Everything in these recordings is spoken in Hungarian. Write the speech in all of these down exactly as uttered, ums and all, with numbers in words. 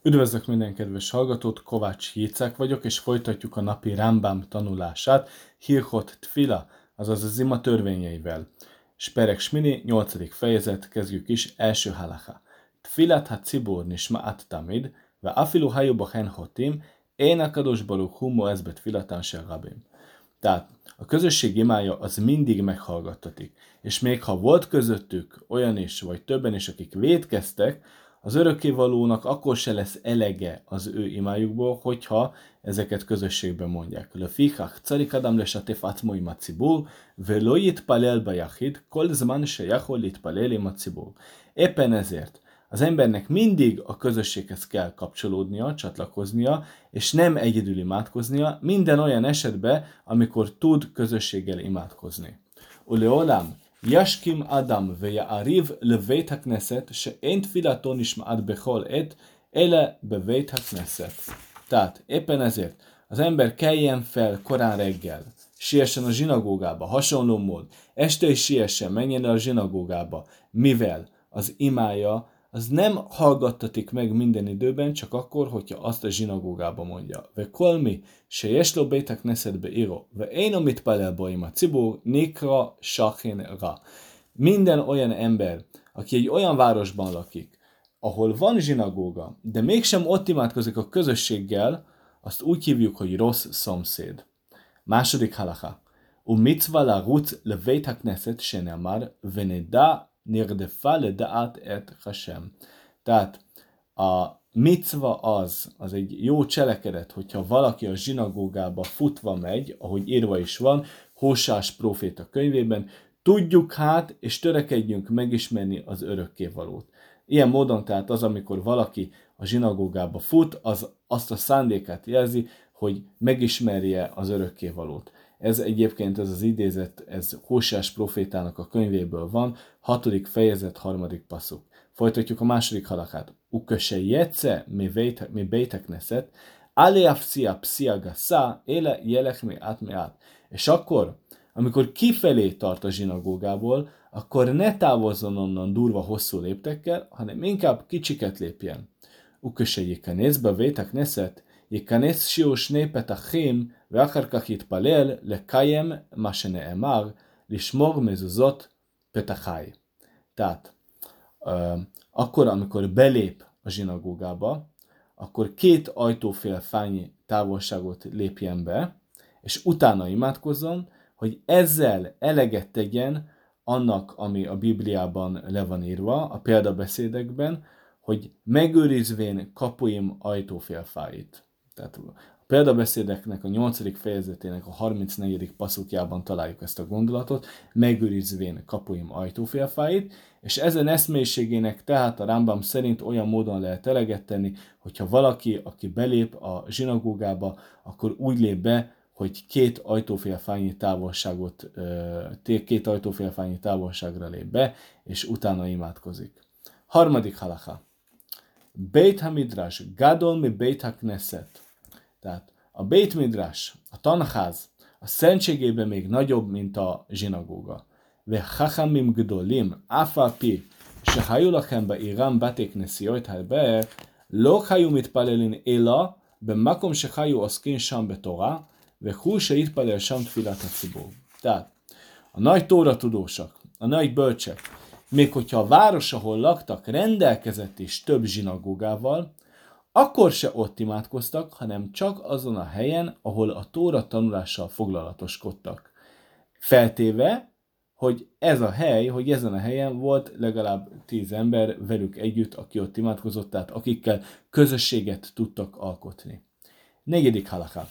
Üdvözlök minden kedves hallgatót, Kovács Jicek vagyok, és folytatjuk a napi Rambam tanulását, Hilchot Tfila, azaz az ima törvényeivel. Sperek Smini, nyolcadik fejezet, kezdjük is, első halacha. Tfilat ha cibur nisma'at tamid, ve afilu hayu bachen hotim, én a kadosh baruch hu moez betfilatan shel rabim. Tehát a közösség imája az mindig meghallgattatik, és még ha volt közöttük olyan is, vagy többen is, akik vétkeztek, az örökkévalónak akkor se lesz elege az ő imájukból, hogyha ezeket közösségben mondják. Lefichach carik adam lesatef atzmo im hacibur, velo yitpalel bajachid, kol zman sheyachol yitpalel im hacibur. Éppen ezért az embernek mindig a közösséghez kell kapcsolódnia, csatlakoznia, és nem egyedül imádkoznia, minden olyan esetben, amikor tud közösséggel imádkozni. Uleolam, ישכים אדם ויעריב לבית הכנסת שאין תפילתו נשמעת בכל עת, אלא בבית הכנסת. Tehát éppen ezért az ember keljen fel korán reggel, siessen a zsinagógába, hasonló mód, este is siessen, menjen el a zsinagógába, mivel az imája az nem hallgattatik meg minden időben, csak akkor, hogyha azt a zsinagógába mondja. Ve kolmi, se jeslo bétek neszedbe író, ve én amit palelba ima cibur, nikra sachin ra. Minden olyan ember, aki egy olyan városban lakik, ahol van zsinagóga, de mégsem ott imádkozik a közösséggel, azt úgy hívjuk, hogy rossz szomszéd. Második halacha. U mitzva la rutz leveit hakneset shenemar, veneda nirdefa ledaat et Hashem. Tehát a micva az, az egy jó cselekedet, hogyha valaki a zsinagógába futva megy, ahogy írva is van, Hósás próféta könyvében, tudjuk hát, és törekedjünk megismerni az örökkévalót. Ilyen módon tehát az, amikor valaki a zsinagógába fut, az azt a szándékát jelzi, hogy megismerje az örökkévalót. Ez egyébként, ez az idézet, ez Hósás prófétának a könyvéből van, hatodik fejezet, harmadik passzuk. Folytatjuk a második halakát. Uköse jetsze mi beitek neszet, aleafcia psia gassa, éle jelek mi át mi át. És akkor, amikor kifelé tart a zsinagógából, akkor ne távozzon onnan durva hosszú léptekkel, hanem inkább kicsiket lépjen. Uköse jikanész be beitek neszet, ייכנס שיעור שני פתחים ואחר כך יתפלל לקיים מה שנאמר, לשמור מזוזות פתחי. Tehát, uh, akkor, amikor belép a zsinagógába, akkor két ajtófélfányi távolságot lépjen be, és utána imádkozzon, hogy ezzel eleget tegyen annak, ami a Bibliában le van írva, a példabeszédekben, hogy megőrizvén kapuim ajtófélfáit. Tehát a példabeszédeknek a nyolcadik fejezetének a harmincnegyedik passzukjában találjuk ezt a gondolatot, megőrizvén kapuim ajtófélfáit, és ezen eszmélyiségének tehát a Rambam szerint olyan módon lehet eleget tenni, hogyha valaki, aki belép a zsinagógába, akkor úgy lép be, hogy két ajtófélfányi távolságot, két ajtófélfányi távolságra lép be, és utána imádkozik. Harmadik halacha. Beit HaMidrash, gadol mi Beit HaKnesset. Tehát a Beit Midrash, a tanház, a szentségében még nagyobb, mint a zsinagóga. Ve chachamim gdolim, afapi, se hayu lachem ba'irám bate knesiot harbe, lo hayu mitpalelin ela, bemakom se hayu oskin sham betorá, ve hu se yitpalel sham tfilat hacibur. Tehát a nagy tóra tudósak, a nagy bölcsek, még hogyha a város, ahol laktak, rendelkezett is több zsinagógával, akkor se ott imádkoztak, hanem csak azon a helyen, ahol a tóra tanulással foglalatoskodtak. Feltéve, hogy ez a hely, hogy ezen a helyen volt legalább tíz ember velük együtt, aki ott imádkozott, tehát akikkel közösséget tudtak alkotni. Negyedik halakha.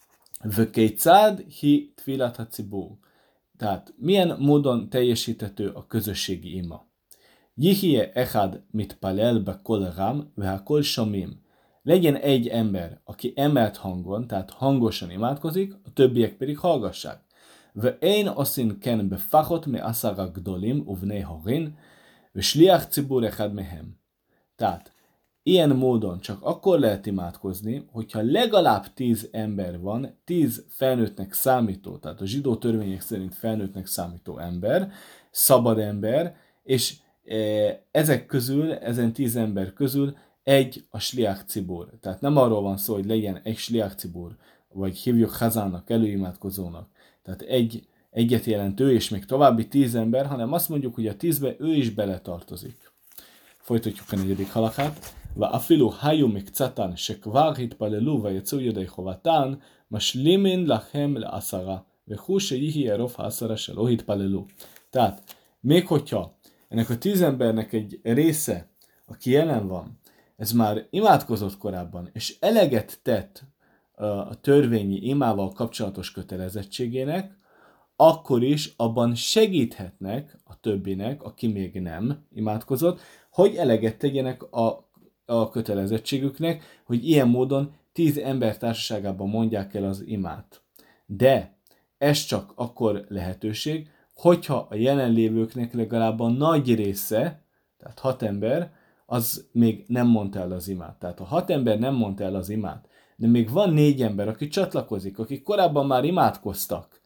Vökécád hi tfilat hacibur. Tehát milyen módon teljesíthető a közösségi ima? Jihie echad mitpalel bekol ram vehakol shomim. Legyen egy ember, aki emelt hangon, tehát hangosan imádkozik, a többiek pedig hallgassák. Ve én oszin ken befachot me asara gdolim uvnei horin, ve shliach cibur echad mehem. Tehát ilyen módon csak akkor lehet imádkozni, hogyha legalább tíz ember van, tíz felnőttnek számító, tehát a zsidó törvények szerint felnőttnek számító ember, szabad ember, és ezek közül, ezen tíz ember közül egy a sliach cibur. Tehát nem arról van szó, hogy legyen egy sliach cibur, vagy hívjuk hazának, előimádkozónak. Tehát egy, egyet jelent ő, és még további tíz ember, hanem azt mondjuk, hogy a tízbe ő is beletartozik. Folytatjuk a negyedik halakát. ואפילו היו מקצתן שכבר התפללו ויצאו ידי חובתן, משלימין לכם לעשרה, וכו שיהי רוב העשרה שלא התפללו. Tehát, még hogyha ennek a tíz embernek egy része, aki jelen van, ez már imádkozott korábban, és eleget tett a törvényi imával kapcsolatos kötelezettségének, akkor is abban segíthetnek a többinek, aki még nem imádkozott, hogy eleget tegyenek a, a kötelezettségüknek, hogy ilyen módon tíz ember társaságában mondják el az imát. De ez csak akkor lehetőség, hogyha a jelenlévőknek legalább a nagy része, tehát hat ember, az még nem mondta el az imát. Tehát ha hat ember nem mondta el az imát, de még van négy ember, aki csatlakozik, akik korábban már imádkoztak,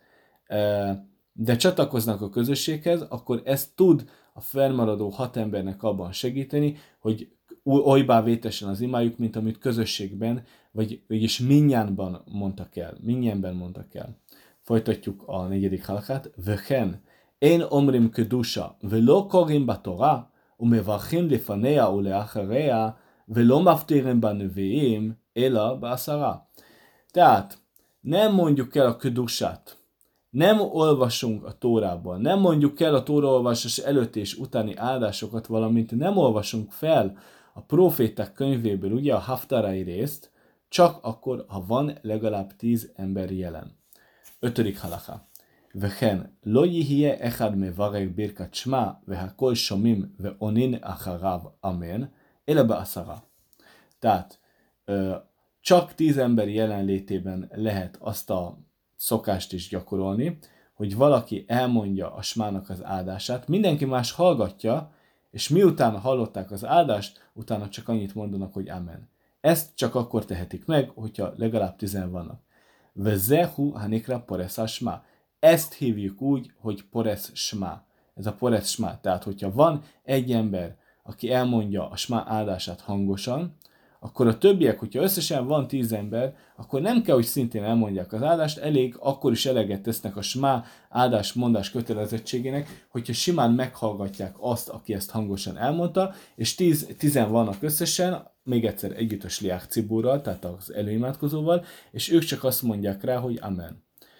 de csatlakoznak a közösséghez, akkor ez tud a felmaradó hat embernek abban segíteni, hogy olybá vétesen az imájuk, mint amit közösségben, vagy vagyis minnyánban mondtak el. Minnyánban mondtak el. Folytatjuk a negyedik halakát. Vehen, én omrim kedusha, velo korim batora, umevarchim lefanea uleacharea, velo maftirim baneviim, ela ba'asara. Tehát nem mondjuk el a kedusát, nem olvasunk a Tórában, nem mondjuk el a Tóraolvasás előtt és utáni áldásokat, valamint nem olvasunk fel a proféták könyvéből, ugye a haftarai részt, csak akkor, ha van legalább tíz ember jelen. Ötödik halakha. Vehen, lo yihye echad mevarek birkat shma, vehakol shomim, veonin acharav, amen, ele ba'asara. Tehát, csak tíz ember jelenlétében lehet azt a szokást is gyakorolni, hogy valaki elmondja a smának az áldását, mindenki más hallgatja, és miután hallották az áldást, utána csak annyit mondanak, hogy amen. Ezt csak akkor tehetik meg, hogyha legalább tizen vannak. Vezehu hanikra poresz smá. Ezt hívjuk úgy, hogy poresz smá. Ez a poresz smá. Tehát, hogyha van egy ember, aki elmondja a smá áldását hangosan, akkor a többiek, hogyha összesen van tíz ember, akkor nem kell, hogy szintén elmondják az áldást, elég, akkor is eleget tesznek a smá áldás mondás kötelezettségének, hogyha simán meghallgatják azt, aki ezt hangosan elmondta, és tíz, tizen vannak összesen, még egyszer együtt a sliach ciburral, tehát az előimádkozóval, és ők csak azt mondják rá, hogy amen.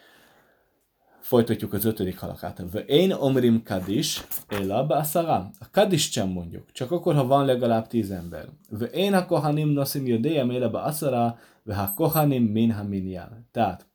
Folytatjuk az ötödik halakát. Én omrim kadis, ela ba'asara. A kadis sem mondjuk, csak akkor, ha van legalább tíz ember. Én a kohanim nosim jödejem ela ba'asara, ve ha kohanim min ha minyan. Tehát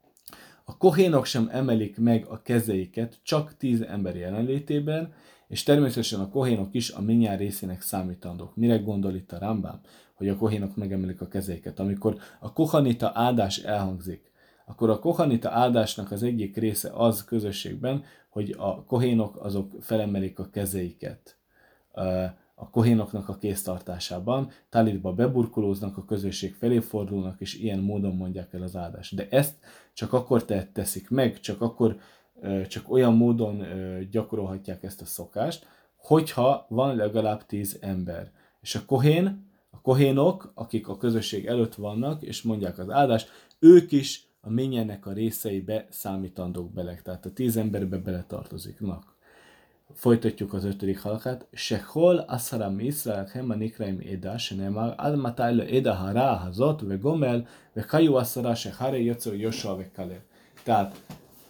a kohénok sem emelik meg a kezeiket csak tíz ember jelenlétében, és természetesen a kohénok is a minyan részének számítandók. Mire gondol itt a Rambam, hogy a kohénok megemelik a kezeiket? Amikor a kohanita áldás elhangzik, akkor a kohanita áldásnak az egyik része az közösségben, hogy a kohénok azok felemelik a kezeiket a kohénoknak a kéztartásában, talitba beburkolóznak, a közösség felé fordulnak, és ilyen módon mondják el az áldást. De ezt csak akkor teszik meg, csak akkor, csak olyan módon gyakorolhatják ezt a szokást, hogyha van legalább tíz ember. És a kohén, a kohénok, akik a közösség előtt vannak, és mondják az áldást, ők is a minyennek a részeibe számítandók bele, tehát a tíz emberbe beletartoziknak. Folytatjuk az ötödik halakát. Sehol aszara mi Iszraelhem a nikraim eda, se nemar, ad matáj le eda hara hazot, ve gomel, ve kajú aszara, se hare jöccő Jósua, ve Kaleb. Tehát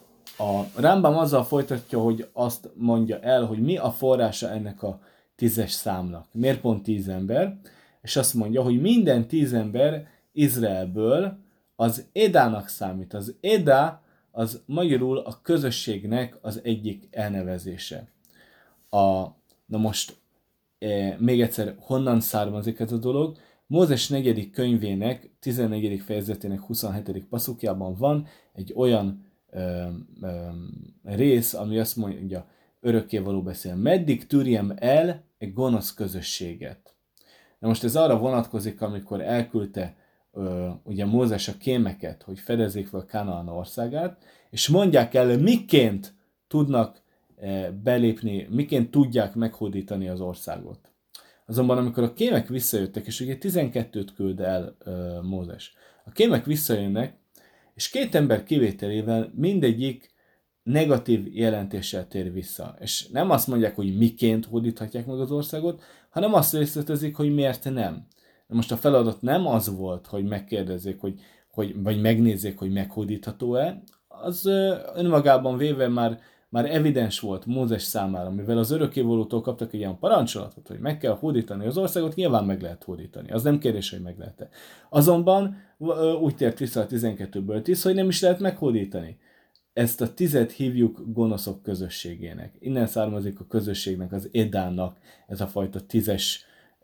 a Rambam azzal folytatja, hogy azt mondja el, hogy mi a forrása ennek a tízes számnak. Miért pont tíz ember? És azt mondja, hogy minden tíz ember Izraelből az Edának számít. Az Eda az magyarul a közösségnek az egyik elnevezése. A, na most e, még egyszer, honnan származik ez a dolog? Mózes negyedik könyvének, tizennegyedik fejezetének huszonhetedik passzukjában van egy olyan ö, ö, rész, ami azt mondja, örökkévaló beszél. Meddig tűrjem el egy gonosz közösséget? Na most ez arra vonatkozik, amikor elküldte ö, ugye Mózes a kémeket, hogy fedezzék fel Kánaán országát, és mondják el, miként tudnak belépni, miként tudják meghódítani az országot. Azonban amikor a kémek visszajöttek, és ugye tizenkettőt küld el ö, Mózes, a kémek visszajönnek, és két ember kivételével mindegyik negatív jelentéssel tér vissza. És nem azt mondják, hogy miként hódíthatják meg az országot, hanem azt részletezik, hogy miért nem. De most a feladat nem az volt, hogy megkérdezzék, hogy, hogy, vagy megnézzék, hogy meghódítható-e, az önmagában véve már, már evidens volt Mózes számára, mivel az örökkévalótól kaptak egy ilyen parancsolatot, hogy meg kell hódítani az országot, nyilván meg lehet hódítani. Az nem kérdés, hogy meg lehet-e. Azonban úgy tért vissza a tizenkettőből tíz, hogy nem is lehet meghódítani. Ezt a tizet hívjuk gonoszok közösségének. Innen származik a közösségnek, az Edának ez a fajta tízes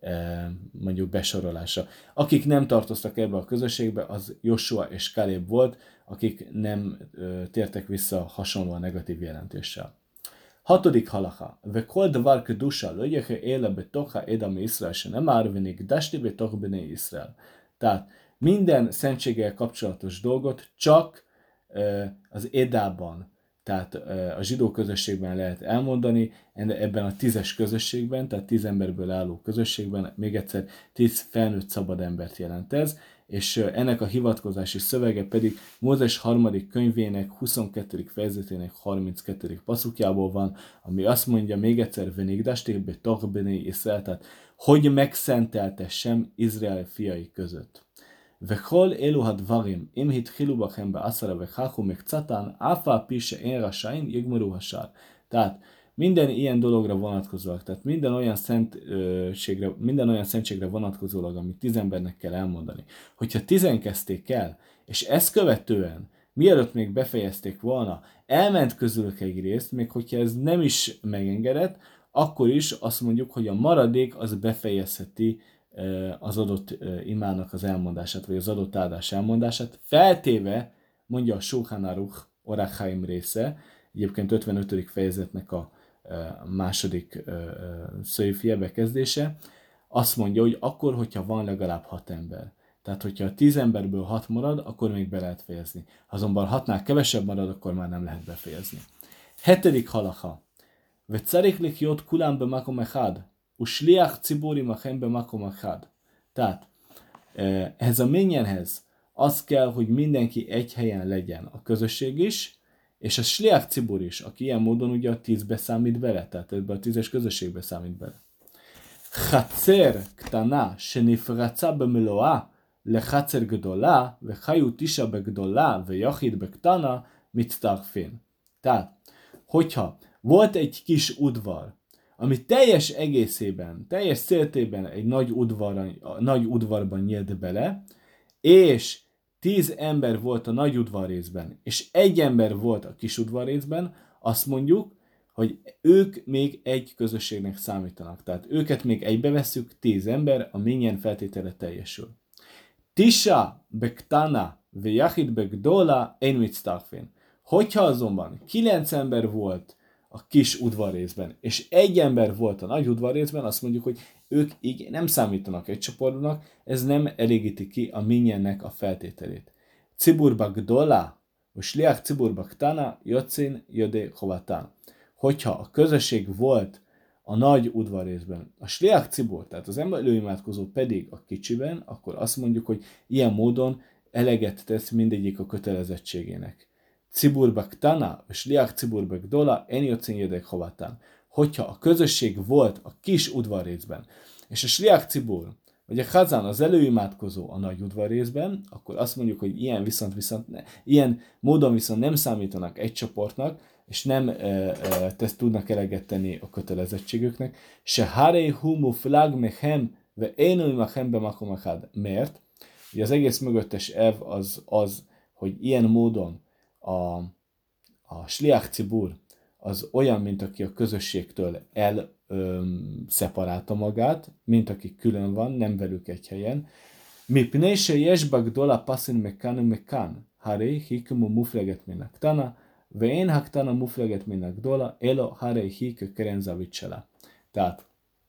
mondjuk besorolása. Akik nem tartoztak ebbe a közösségbe, az Joshua és Kaleb volt, akik nem ö, tértek vissza hasonlóan negatív jelentéssel. Hatodik halacha. Vekol davar kedusha lo yeche éle betocha edam Israel, se nem árvenik dasti betoch bene Israel. Tehát minden szentséggel kapcsolatos dolgot csak ö, az Edában, tehát a zsidó közösségben lehet elmondani, ebben a tízes közösségben, tehát tíz emberből álló közösségben, még egyszer tíz felnőtt szabad embert jelent ez, és ennek a hivatkozási szövege pedig Mózes harmadik könyvének huszonkettedik fejezetének harminckettedik passzukjából van, ami azt mondja még egyszer, venigdasték be toch bene Israel, tehát hogy megszenteltessem Izrael fiai között. וכל אלו הדברים, אם התחילו בכם בעשרה וכך ומקצתן, אף על פי שאין רשאים, יגמרו השאר. Tehát minden ilyen dologra vonatkozólag, tehát minden olyan szentségre, minden olyan szentségre vonatkozólag, amit tíz embernek kell elmondani. Hogyha tizen kezdték el, és ezt követően, mielőtt még befejezték volna, elment közülük egy részt, még hogyha ez nem is megengedett, akkor is azt mondjuk, hogy a maradék az befejezheti az adott imának az elmondását, vagy az adott áldás elmondását, feltéve, mondja a Shulchan Aruch Orach Chaim része, egyébként ötvenötödik fejezetnek a második szöjfje bekezdése, azt mondja, hogy akkor, hogyha van legalább hat ember. Tehát, hogyha a tíz emberből hat marad, akkor még be lehet fejezni. Azonban hatnál kevesebb marad, akkor már nem lehet befejezni. Hetedik halacha. Vecarich lichjot kulam bemakom echad. Usliach cibur imachem bemakom echad. Tehát, ehhez a minyanhez az kell, hogy mindenki egy helyen legyen, a közösség is, és a sliach cibur is, aki ilyen módon ugye a tízbe számít bele, tehát ebbe a tízes közösségbe számít bele. Chatzer ktana, shenifratza bemeloa, lechatzer gdola, vechayu tisha begdola, vejachid bektana, mitztarfin. Tehát, hogyha volt egy kis udvar, ami teljes egészében, teljes széltében egy nagy, udvarban, nagy udvarban nyílt bele, és tíz ember volt a nagy udvarrészben, és egy ember volt a kis udvarrészben, azt mondjuk, hogy ők még egy közösségnek számítanak. Tehát őket még egybe vesszük, tíz ember, a minyen feltétele teljesül. Tisha bektana vejachid begdola ein mitztarfin. Hogyha azonban kilenc ember volt a kis udvarrészben, és egy ember volt a nagy udvarrészben, azt mondjuk, hogy ők így nem számítanak egy csoportnak, ez nem elégíti ki a minyennek a feltételét. Ciburba gdola, vagy sliach ciburba ktana, jocin jodé chovatán. Hogyha a közösség volt a nagy udvarrészben, a sliach cibur, tehát az előimádkozó pedig a kicsiben, akkor azt mondjuk, hogy ilyen módon eleget tesz mindegyik a kötelezettségének. Ciburba ktana, vagy sliach ciburba gdola, en jocin jodé chovatán. Hogyha a közösség volt a kis udvarrészben, és a sliach cibur, vagy a chazán, az előimádkozó a nagy udvarrészben, akkor azt mondjuk, hogy ilyen, viszont, viszont ne, ilyen módon viszont nem számítanak egy csoportnak, és nem e, e, tesz, tudnak eleget tenni a kötelezettségüknek. Se harei hu muflag mechem, ve énui machem bemakom achad. Miért? Ugye az egész mögöttes elv az az, hogy ilyen módon a, a sliach cibur az olyan, mint aki a közösségtől elszeparálta magát, mint aki külön van, nem velük egy helyen. Mipnei se jesba gdola pasin mekan mekan, harei hikumu mufleget min aktana, ve én haktana mufleget min agdola, elo harei hik kerenzavitsela. Tehát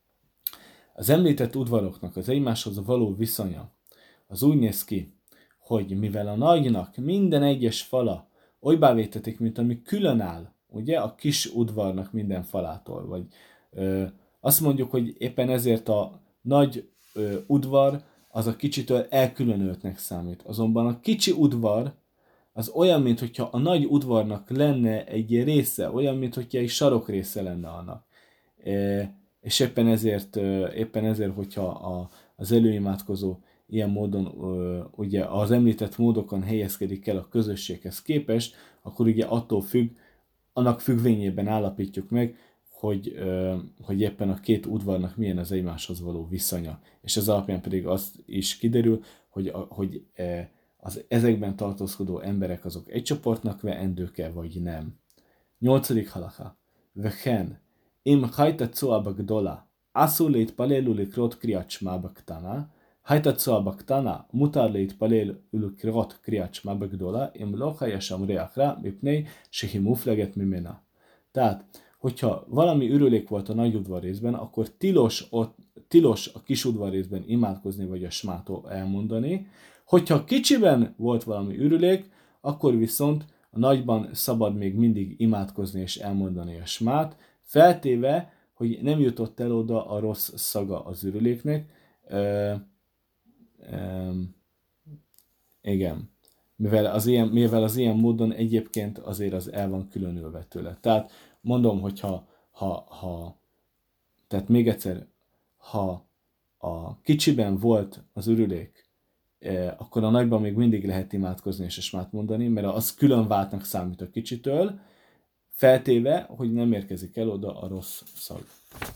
az említett udvaroknak az egymáshoz való viszonya az úgy néz ki, hogy mivel a nagynak minden egyes fala olybá vétetik, mint ami külön áll, ugye, a kis udvarnak minden falától, vagy ö, azt mondjuk, hogy éppen ezért a nagy ö, udvar az a kicsitől elkülönültnek számít. Azonban a kicsi udvar az olyan, mintha a nagy udvarnak lenne egy része, olyan, mintha egy sarok része lenne annak. E, és éppen ezért, éppen ezért, hogyha a, az előimádkozó ilyen módon, ugye az említett módokon helyezkedik el a közösséghez képest, akkor ugye attól függ, annak függvényében állapítjuk meg, hogy, hogy éppen a két udvarnak milyen az egymáshoz való viszonya. És ez alapján pedig az is kiderül, hogy, hogy az ezekben tartózkodó emberek azok egy csoportnak veendők-e, vagy nem. Nyolcadik halacha. Vehen, im hajta coa bagdola, asszul להתפלל ולקרות קריאת שמע בקטנה, הייתה צועה בקטנה, מותר להתפלל ולקרות קריאת שמע בגדולה, אם לא היה שם ריח רע, מפני שהיא מופלגת ממנה. Tehát, hogyha valami ürülék volt a nagy udvarrészben, akkor tilos, ott, tilos a kis udvarrészben imádkozni, vagy a smát elmondani. Hogyha kicsiben volt valami ürülék, akkor viszont a nagyban szabad még mindig imádkozni és elmondani a smát, feltéve, hogy nem jutott el oda a rossz szaga az ürüléknek. Ö, ö, igen. Mivel az, ilyen, mivel az ilyen módon egyébként azért az el van különülve tőle. Tehát mondom, hogyha ha, ha, tehát még egyszer, ha a kicsiben volt az ürülék, akkor a nagyban még mindig lehet imádkozni és a smát mondani, mert az külön váltnak számít a kicsitől, feltéve, hogy nem érkezik el oda a rossz szag.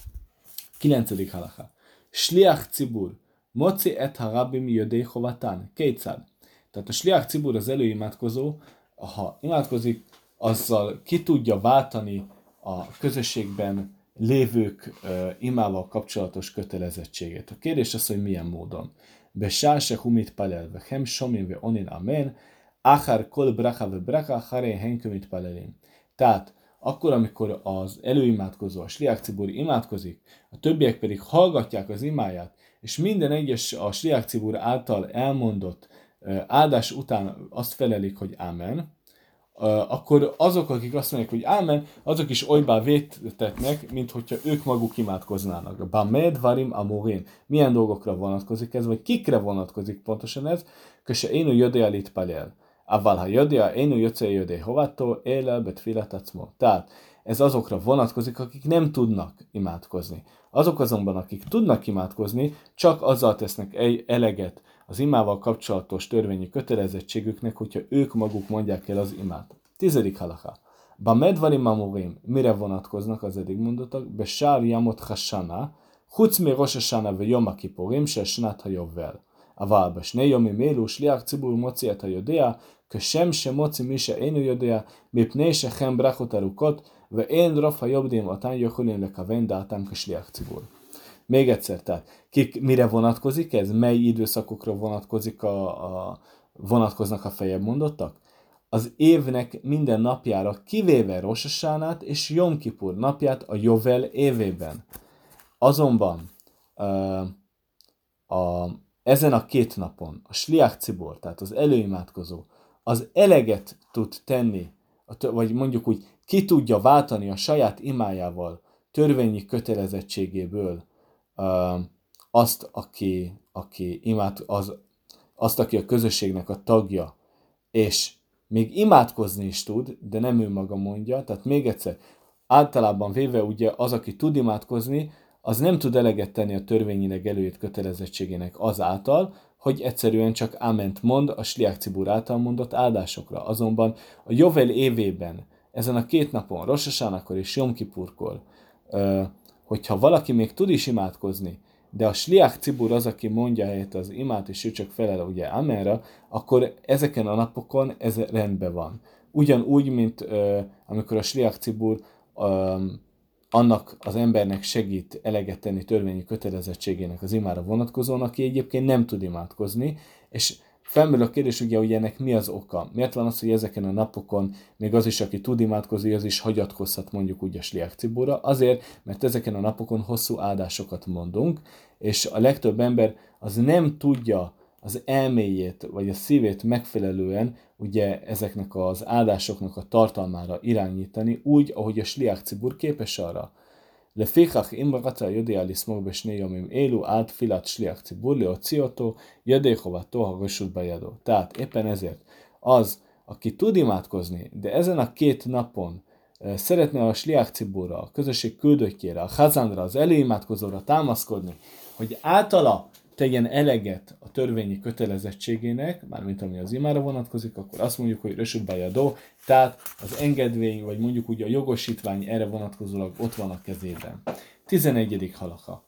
Kilencedik halacha. Shliach cibur, moci et harabim jödei chovatán. Kétszád. Tehát a shliach cibur, az előimádkozó, ha imádkozik, azzal ki tudja váltani a közösségben lévők uh, imával kapcsolatos kötelezettségét. A kérdés az, hogy milyen módon. Besár se humit palel, vechem somim ve onin amen, achar kol bracha ve bracha, haré henkömit palelim. Tehát akkor, amikor az előimádkozó, a shliach cibur imádkozik, a többiek pedig hallgatják az imáját, és minden egyes a shliach cibur által elmondott uh, áldás után azt felelik, hogy ámen, Uh, akkor azok, akik azt mondják, hogy ámen, azok is olybá vétetnek, mint hogyha ők maguk imádkoznának. Bamed varim amorin. Milyen dolgokra vonatkozik ez, vagy kikre vonatkozik pontosan ez? Köse énu jödél itt palel. Aval ha jödél, énu jödél jödél hovattól, élel betfilat acmo. Tehát ez azokra vonatkozik, akik nem tudnak imádkozni. Azok azonban, akik tudnak imádkozni, csak azzal tesznek eleget az imával kapcsolatos törvényi kötelezettségüknek, hogyha ők maguk mondják el az imát. Tizedik halacha. Ba medvarim amurim, mire vonatkoznak az eddig mondottak? Be sár jamot hasana, chuc mi rosh hasana ve yom kippurim, se snat hayovel. Aval be shnei yomim elu, shliach cibur moci et hayodea, כשם שמוציא מי שאינו יודע, מפני שכם ברכות ארוכות, ואין רוב היובדים אותן יכולים לכוון דעתם כשליח ציבור. Még egyszer, tehát kik, mire vonatkozik ez? Mely időszakokra vonatkozik a, a, vonatkoznak a feljebb mondottak? Az évnek minden napjára, kivéve Rosh Hashanát és Jom Kipur napját a Jovel évében. Azonban uh, a, ezen a két napon a Shliach Cibor, tehát az előimádkozó, az eleget tud tenni, vagy mondjuk úgy ki tudja váltani a saját imájával, törvényi kötelezettségéből uh, azt, aki, aki imád, az, azt, aki a közösségnek a tagja, és még imádkozni is tud, de nem ő maga mondja, tehát még egyszer, általában véve ugye az, aki tud imádkozni, az nem tud eleget tenni a törvényileg előírt kötelezettségének azáltal, hogy egyszerűen csak áment mond a Shliach Cibur által mondott áldásokra. Azonban a Jovel évében, ezen a két napon, Rosh Hashanakor és Jom Kipurkor, hogyha valaki még tud is imádkozni, de a Shliach Cibur az, aki mondja helyett az imát, és ő csak felel ugye Amenra, akkor ezeken a napokon ez rendben van. Ugyanúgy, mint amikor a Shliach Cibur annak az embernek segít eleget tenni törvényi kötelezettségének az imára vonatkozóan, aki egyébként nem tud imádkozni, és felmerül a kérdés ugye, hogy ennek mi az oka. Miért van az, hogy ezeken a napokon még az is, aki tud imádkozni, az is hagyatkozhat mondjuk úgy a Shliach Ciburra? Azért, mert ezeken a napokon hosszú áldásokat mondunk, és a legtöbb ember az nem tudja az elméjét, vagy a szívét megfelelően ugye ezeknek az áldásoknak a tartalmára irányítani, úgy, ahogy a Shliach Cibur képes arra. לפיכך, אם רצה יודע לשמור בשני ימים אלו עד תפילת שליח ציבור, להוציא אותו ידי חובתו הרשות בידו. Tehát éppen ezért az, aki tud imádkozni, de ezen a két napon szeretne a sliach cibúra, a közösség küldöttjére, a chazánra, az előimádkozóra támaszkodni, hogy általa tegyen eleget a törvényi kötelezettségének, mármint ami az imára vonatkozik, akkor azt mondjuk, hogy rösut bajadó, tehát az engedvény, vagy mondjuk úgy a jogosítvány erre vonatkozólag ott van a kezében. tizenegyedik halakha.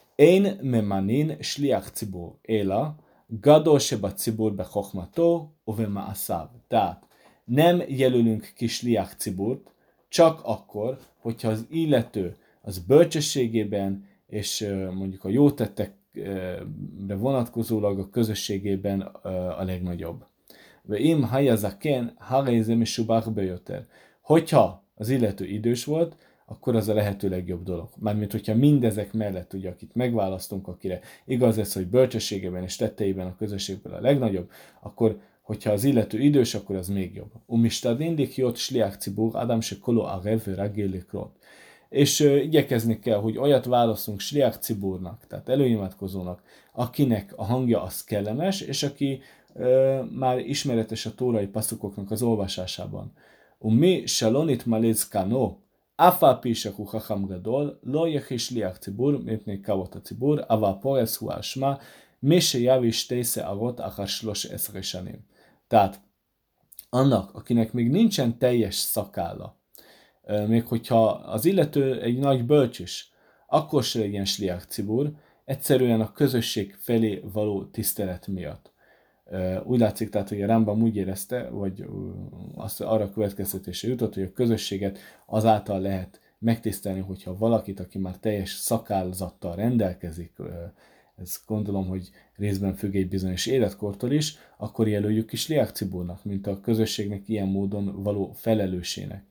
Én memanin sliach cibur éla, gadol seba cibur be chokhmato, ove ma'asav. Tehát nem jelölünk ki sliach ciburt, csak akkor, hogyha az illető az bölcsességében és mondjuk a jó tettekre vonatkozólag a közösségében a legnagyobb. Veim hajazaken harézem és subach bejöter. Hogyha az illető idős volt, akkor az a lehető legjobb dolog. Mármint, hogyha mindezek mellett, ugye, akit megválasztunk, akire igaz ez, hogy bölcsességében és tetteiben a közösségben a legnagyobb, akkor hogyha az illető idős, akkor az még jobb. Umistadindik jött sliach cibur, Adam se kolo arev ragélikrot. És uh, igyekezni kell, hogy olyat válaszunk sliach ciburnak, tehát előimádkozónak, akinek a hangja az kellemes, és aki uh, már ismeretes a tórai passzukoknak az olvasásában. Umi salonit malezkano, afa pishaku chacham gadol, lo yechi sliach cibur, mipnei kavot a cibur, ava pores hu ashma, mi se javis tésze agot akar slos eszresanim. Tehát annak, akinek még nincsen teljes szakálla, még hogyha az illető egy nagy bölcs is, akkor se legyen sliach cibur, egyszerűen a közösség felé való tisztelet miatt. Úgy látszik tehát, hogy a Rambam úgy érezte, vagy azt arra következtetése jutott, hogy a közösséget azáltal lehet megtisztelni, hogyha valakit, aki már teljes szakálzattal rendelkezik, ez gondolom, hogy részben függ egy bizonyos életkortól is, akkor jelöljük is sliach ciburnak, mint a közösségnek ilyen módon való felelősének.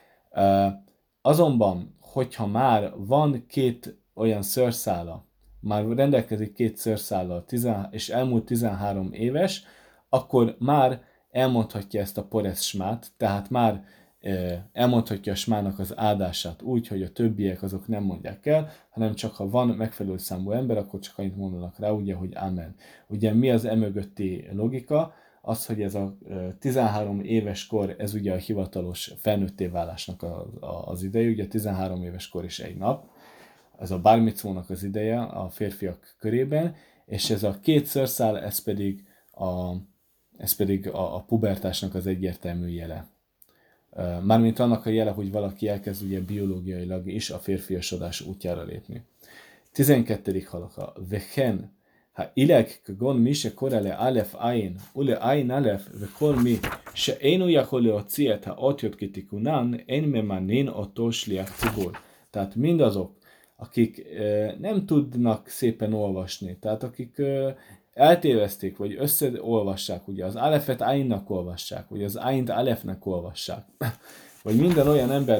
Azonban, hogyha már van két olyan szőrszála, már rendelkezik két szőrszállal, és elmúlt tizenhárom éves, akkor már elmondhatja ezt a poresz smát, tehát már elmondhatja a smának az áldását úgy, hogy a többiek azok nem mondják el, hanem csak ha van megfelelő számú ember, akkor csak annyit mondanak rá, ugye, hogy amen. Ugye mi az emögötti logika? Az, hogy ez a tizenhárom éves kor, ez ugye a hivatalos felnőtté válásnak az ideje, ugye tizenhárom éves kor is egy nap, ez a bar micvónak az ideje a férfiak körében, és ez a két szőrszál, ez pedig a, ez pedig a, a pubertásnak az egyértelmű jele. Mármint annak a jele, hogy valaki elkezd ugye biológiailag is a férfiasodás útjára lépni. tizenkettedik halaka. Vehen, ha ileg kagon mi se korele alef ayin, ule ayin alef, ve kol mi, se énu jakol leociet, ha ott jött kitikunan, én memanin otto sliach cibur. Tehát mindazok, akik e, nem tudnak szépen olvasni, tehát akik e, eltévezték, vagy összeolvassák, ugye az alefet ainnak olvassák, vagy az aint alefnek olvassák, vagy minden olyan ember,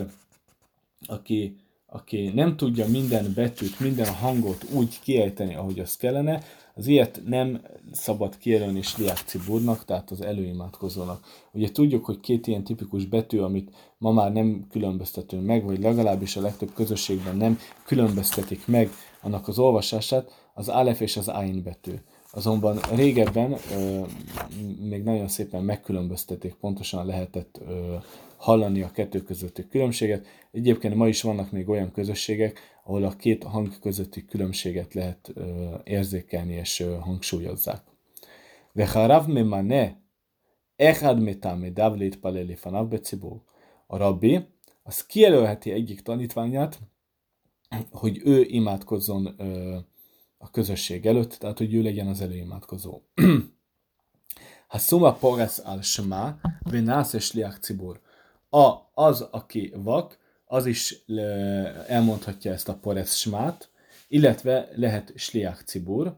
aki, aki nem tudja minden betűt, minden hangot úgy kiejteni, ahogy az kellene, az ilyet nem szabad kijelölni sliach ciburnak, tehát az előimádkozónak. Ugye tudjuk, hogy két ilyen tipikus betű, amit ma már nem különböztetünk meg, vagy legalábbis a legtöbb közösségben nem különböztetik meg annak az olvasását, az alef és az ain betű. Azonban régebben ö, még nagyon szépen megkülönböztették, pontosan lehetett ö, hallani a kettő közötti különbséget. Egyébként ma is vannak még olyan közösségek, ahol a két hang közötti különbséget lehet ö, érzékelni és ö, hangsúlyozzák. Vecharav memane echad metamedav létpale lifanav becibur. A rabbi az kijelölheti egyik tanítványát, hogy ő imádkozzon ö, a közösség előtt, tehát hogy ő legyen az előimádkozó. Ha szuma poresz al shma, venász és sliach cibur. A, az, aki vak, az is elmondhatja ezt a poresz smát, illetve lehet sliach cibur.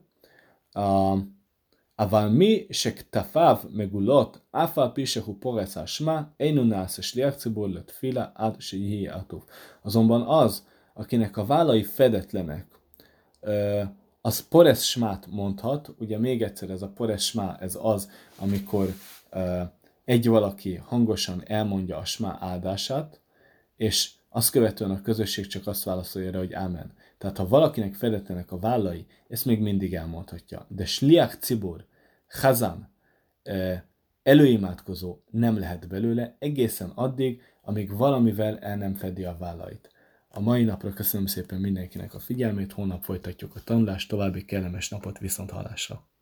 Aval mi se ktafav megulot, afa pisehu poresz al shma, einu nász sliach cibur let fila ad se jihi atuf. Azonban az, akinek a vállai fedetlenek, az poresz smát mondhat, ugye még egyszer ez a poresz smá, ez az, amikor uh, egy valaki hangosan elmondja a smá áldását, és Azt követően a közösség csak azt válaszolja rá, hogy ámen. Tehát ha valakinek fedetlenek a vállai, ezt még mindig elmondhatja. De sliach cibur, chazan, előimádkozó nem lehet belőle egészen addig, amíg valamivel el nem fedi a vállait. A mai napra köszönöm szépen mindenkinek a figyelmét, holnap folytatjuk a tanulást, további kellemes napot, viszont hallásra!